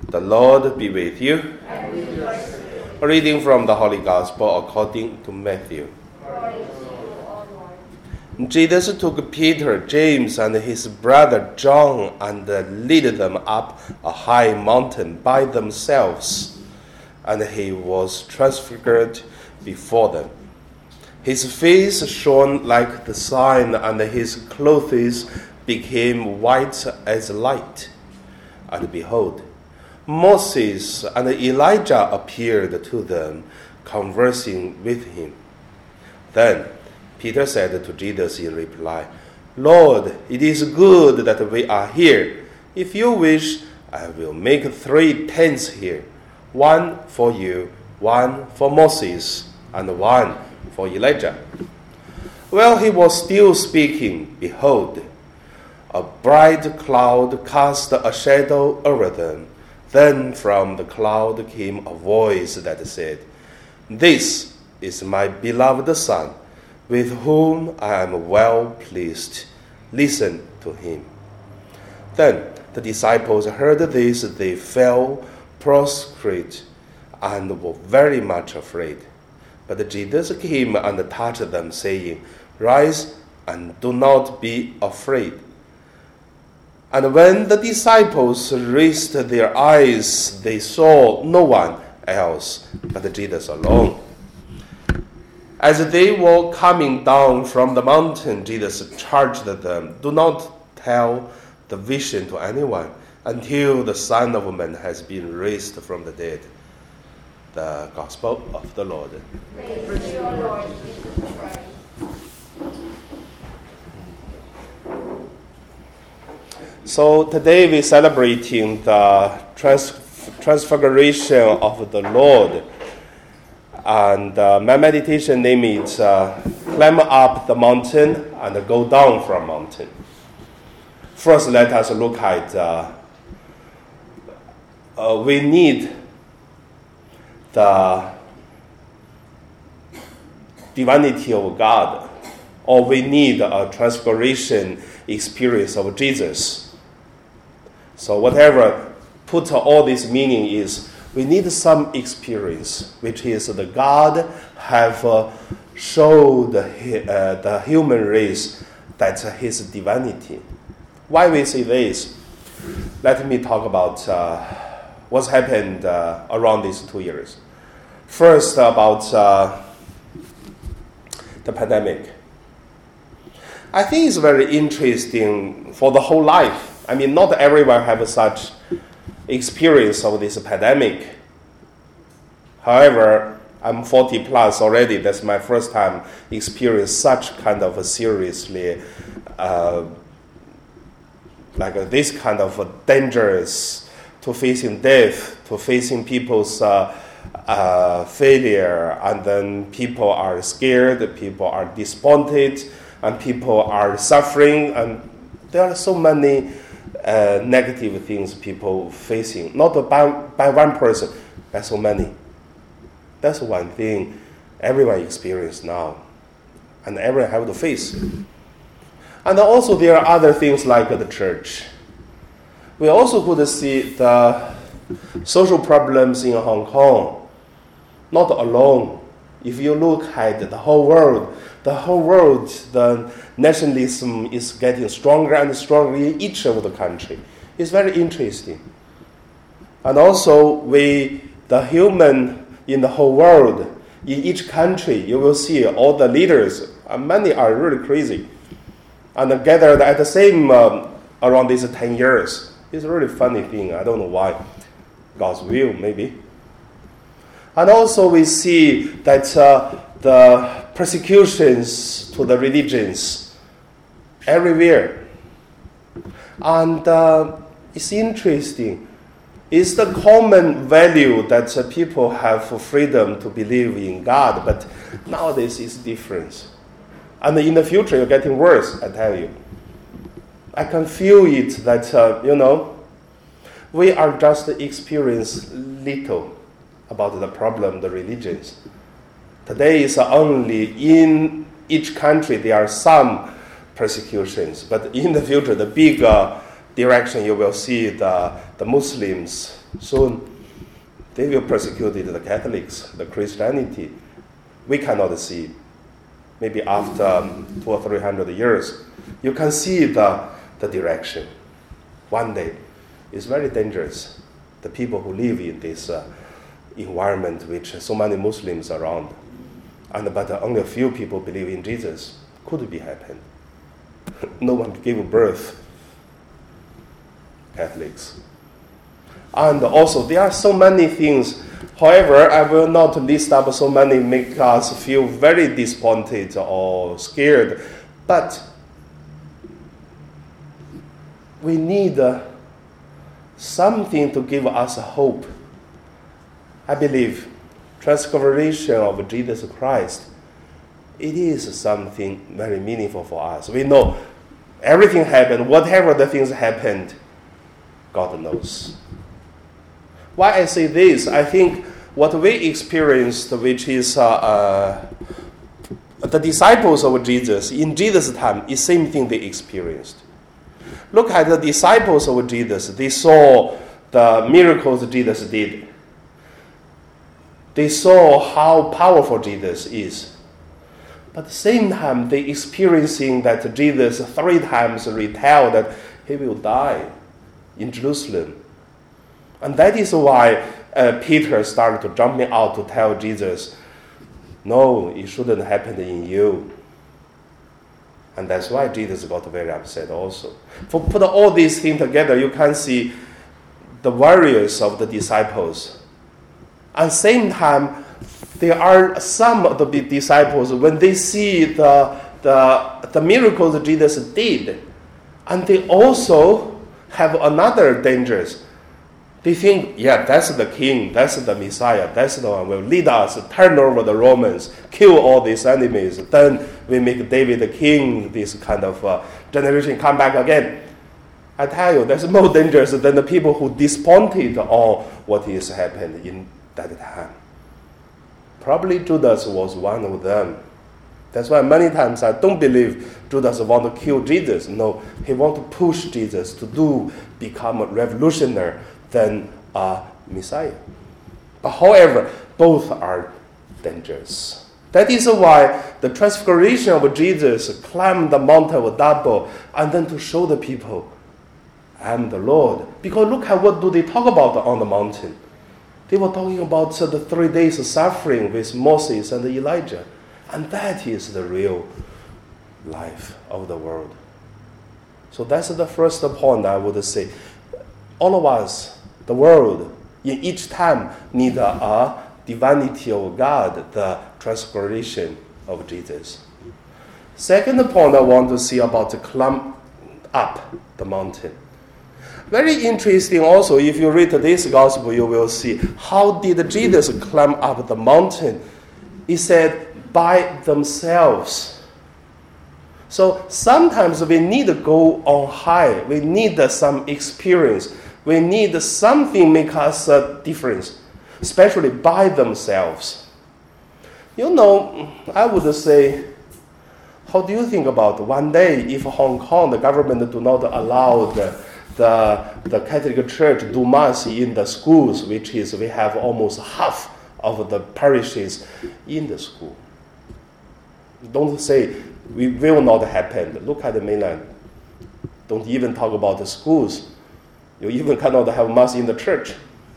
The Lord be with you. A reading from the Holy Gospel according to Matthew. Jesus took Peter, James, and his brother John and led them up a high mountain by themselves, and he was transfigured before them. His face shone like the sun, and his clothes became white as light. And behold, Moses and Elijah appeared to them, conversing with him. Then Peter said to Jesus in reply, "Lord, it is good that we are here. If you wish, I will make 3 tents here, one for you, one for Moses, and one for Elijah." While he was still speaking, behold, a bright cloud cast a shadow over them. Then from the cloud came a voice that said, "This is my beloved Son, with whom I am well pleased. Listen to him." Then the disciples heard this. They fell prostrate and were very much afraid. But Jesus came and touched them, saying, "Rise and do not be afraid." And when the disciples raised their eyes, they saw no one else but Jesus alone. As they were coming down from the mountain, Jesus charged them, "Do not tell the vision to anyone until the Son of Man has been raised from the dead." The Gospel of the Lord. Praise you, Lord Jesus Christ. So today we're celebrating the transfiguration of the Lord. And my meditation name is Climb Up the Mountain and Go Down from Mountain. First, let us look at we need the divinity of God, or we need a transfiguration experience of Jesus. So whatever put all this meaning is, we need some experience, which is the God have showed the human race that's his divinity. Why we say this? Let me talk about what's happened around these 2 years. First, about the pandemic. I think it's very interesting for the whole life. I mean, not everyone have such experience of this pandemic. However, I'm 40 plus already. That's my first time experience such kind of a seriously, like this kind of dangerous, to facing death, to facing people's failure, and then people are scared, people are despondent, and people are suffering, and there are so many negative things people facing, not by one person, by so many. That's one thing everyone experiences now, and everyone have to face. And also there are other things like the church. We also could see the social problems in Hong Kong, not alone. If you look at the whole world, the nationalism is getting stronger and stronger in each of the country. It's very interesting. And also, the human in the whole world, in each country, you will see all the leaders, many are really crazy, and gathered at the same around these 10 years. It's a really funny thing. I don't know why. God's will, maybe. And also we see that the persecutions to the religions everywhere. And it's interesting. It's the common value that people have for freedom to believe in God, but nowadays it's different. And in the future, it's getting worse, I tell you. I can feel it that, we are just experience little about the problem, the religions. Today is only in each country there are some persecutions, but in the future, the big direction you will see the Muslims Soon, they will persecute the Catholics, the Christianity. We cannot see. Maybe after 200 or 300 years, you can see the direction. One day, it's very dangerous. The people who live in this environment, which so many Muslims around, but only a few people believe in Jesus, could be happened. No one gave birth, Catholics. And also, there are so many things. However, I will not list up so many, make us feel very disappointed or scared. But we need something to give us hope. I believe transfiguration of Jesus Christ, it is something very meaningful for us. We know everything happened, whatever the things happened, God knows. Why I say this, I think what we experienced, which is the disciples of Jesus, in Jesus' time, is the same thing they experienced. Look at the disciples of Jesus. They saw the miracles Jesus did. They saw how powerful Jesus is. But at the same time, they experiencing that Jesus 3 times retell that he will die in Jerusalem. And that is why Peter started to jumping out to tell Jesus, no, it shouldn't happen in you. And that's why Jesus got very upset also. For put all these things together, you can see the warriors of the disciples. At the same time, there are some of the disciples, when they see the miracles that Jesus did, and they also have another dangers. They think, yeah, that's the king, that's the Messiah, that's the one who will lead us, turn over the Romans, kill all these enemies. Then we make David the king, this kind of generation come back again. I tell you, that's more dangerous than the people who disappointed on what is happened in that time. Probably Judas was one of them. That's why many times I don't believe Judas want to kill Jesus. No, he want to push Jesus to become a revolutionary than a Messiah. But however, both are dangerous. That is why the transfiguration of Jesus climbed the mountain of Tabor and then to show the people, I am the Lord. Because look at what do they talk about on the mountain. They were talking about the 3 days of suffering with Moses and Elijah. And that is the real life of the world. So that's the first point I would say. All of us, the world, in each time need a divinity of God, the transfiguration of Jesus. Second point I want to see about the climb up the mountain. Very interesting also, if you read this gospel, you will see how did Jesus climb up the mountain. He said, by themselves. So sometimes we need to go on high. We need some experience. We need something make us a difference, especially by themselves. You know, I would say, how do you think about one day if Hong Kong, the government do not allow the Catholic Church do mass in the schools, which is we have almost half of the parishes in the school. Don't say we will not happen. Look at the mainland. Don't even talk about the schools. You even cannot have mass in the church.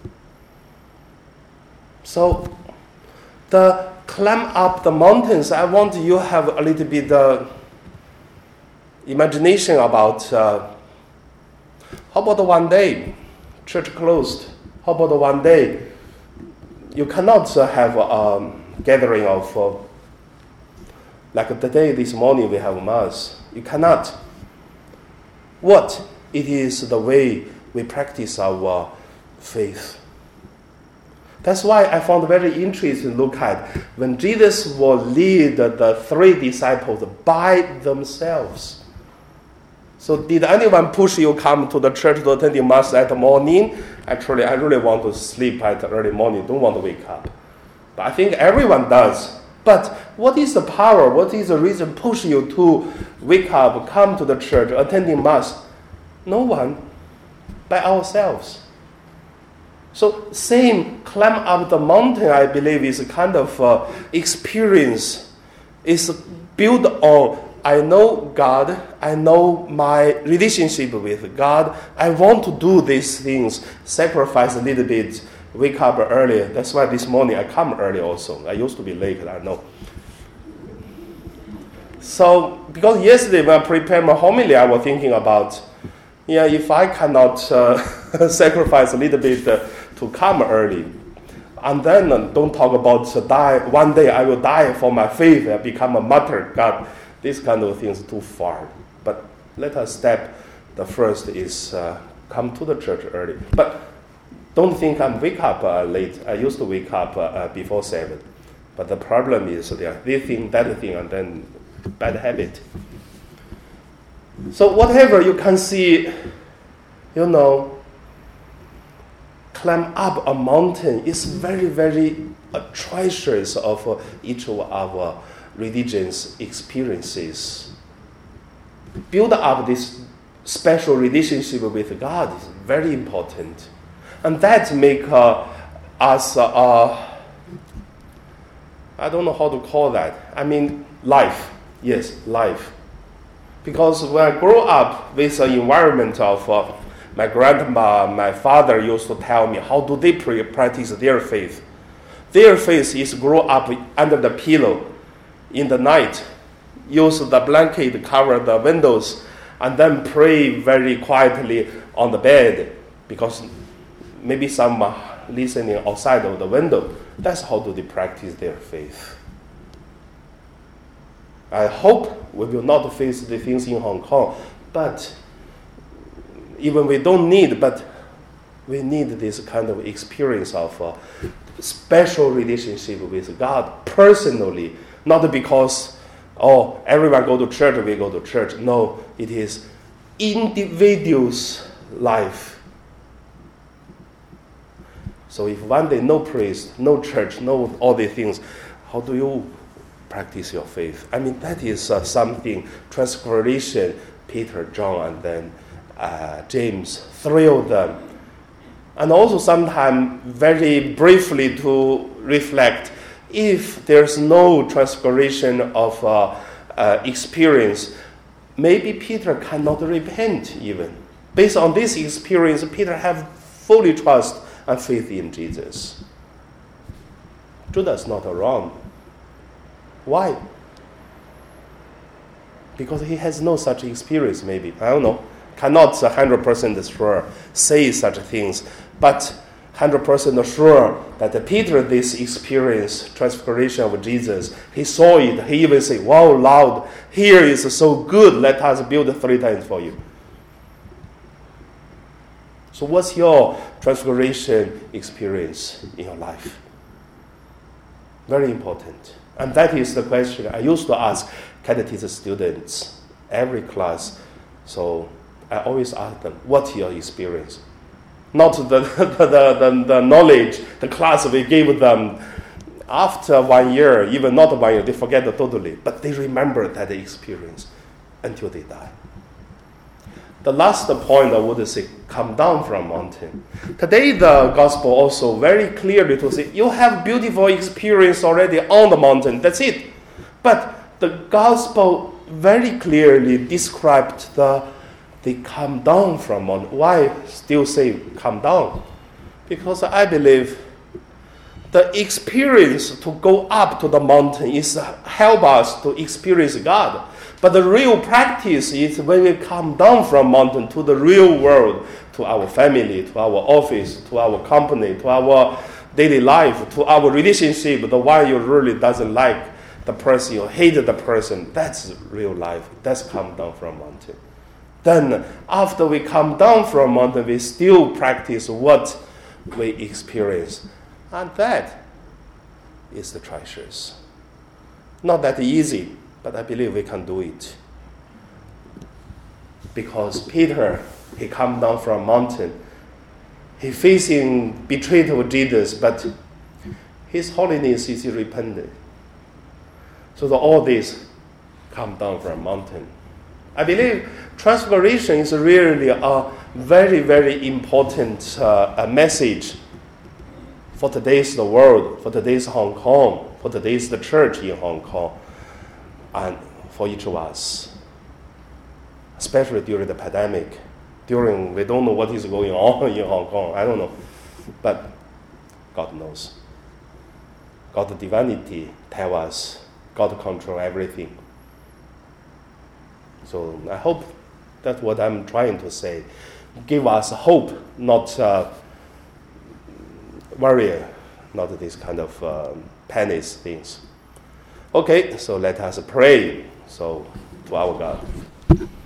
So the climb up the mountains, I want you to have a little bit imagination about how about one day church closed? How about one day you cannot have a gathering of like the day this morning we have mass. You cannot. What? It is the way we practice our faith. That's why I found very interesting to look at when Jesus will lead the 3 disciples by themselves. So did anyone push you come to the church to attend the mass at the morning? Actually, I really want to sleep at the early morning, don't want to wake up. But I think everyone does. But what is the power? What is the reason push you to wake up, come to the church, attending mass? No one. By ourselves. So same climb up the mountain, I believe, is a kind of experience. It's built on, I know God, I know my relationship with God. I want to do these things, sacrifice a little bit, wake up early. That's why this morning I come early also. I used to be late, I know. So, because yesterday when I prepared my homily, I was thinking about, if I cannot sacrifice a little bit to come early, and then don't talk about die. One day I will die for my faith and become a martyr. God, these kind of things too far. But let us step. The first is come to the church early. But don't think I'm wake up late. I used to wake up before 7. But the problem is this thing, that thing, and then bad habit. So whatever you can see, climb up a mountain is very, very treasures of each of our religious experiences. Build up this special relationship with God is very important. And that make us, I don't know how to call that. I mean, life. Yes, life. Because when I grow up with an environment of my grandma, my father used to tell me how do they practice their faith. Their faith is grow up under the pillow in the night, use the blanket to cover the windows, and then pray very quietly on the bed because maybe some listening outside of the window. That's how do they practice their faith. I hope we will not face the things in Hong Kong, but even we don't need, but we need this kind of experience of a special relationship with God personally, not because, everyone go to church, we go to church. No, it is individual's life. So if one day no priest, no church, no all these things, how do you practice your faith? I mean, that is something, Transfiguration, Peter, John, and then James, 3 of them. And also sometimes very briefly to reflect, if there's no Transfiguration of experience, maybe Peter cannot repent even. Based on this experience, Peter have fully trust and faith in Jesus. Judas not wrong. Why? Because he has no such experience, maybe. I don't know. Cannot 100% sure say such things, but 100% sure that Peter, this experience, transfiguration of Jesus, he saw it. He even said, wow, Lord, here is so good. Let us build 3 times for you. So what's your transfiguration experience in your life? Very important. And that is the question I used to ask catechism students every class. So I always ask them, what's your experience? Not the knowledge, the class we gave them after 1 year, even not 1 year, they forget it totally. But they remember that experience until they die. The last point I would say, come down from mountain. Today the gospel also very clearly to say, you have beautiful experience already on the mountain, that's it. But the gospel very clearly described they come down from mountain. Why still say come down? Because I believe the experience to go up to the mountain is help us to experience God. But the real practice is when we come down from mountain to the real world, to our family, to our office, to our company, to our daily life, to our relationship, the one you really doesn't like the person, you hate the person. That's real life. That's come down from mountain. Then after we come down from mountain, we still practice what we experience. And that is the treasures. Not that easy, but I believe we can do it. Because Peter, he come down from mountain. He facing betrayal of Jesus, but his holiness is repentant. So all this come down from mountain. I believe transfiguration is really a very, very important message for today's the world, for today's Hong Kong, for today's the church in Hong Kong, and for each of us, especially during the pandemic. We don't know what is going on in Hong Kong. I don't know, but God knows. God's divinity tells us God controls everything. So I hope that's what I'm trying to say. Give us hope, not worry, not this kind of panic things. Okay, so let us pray. So to our God.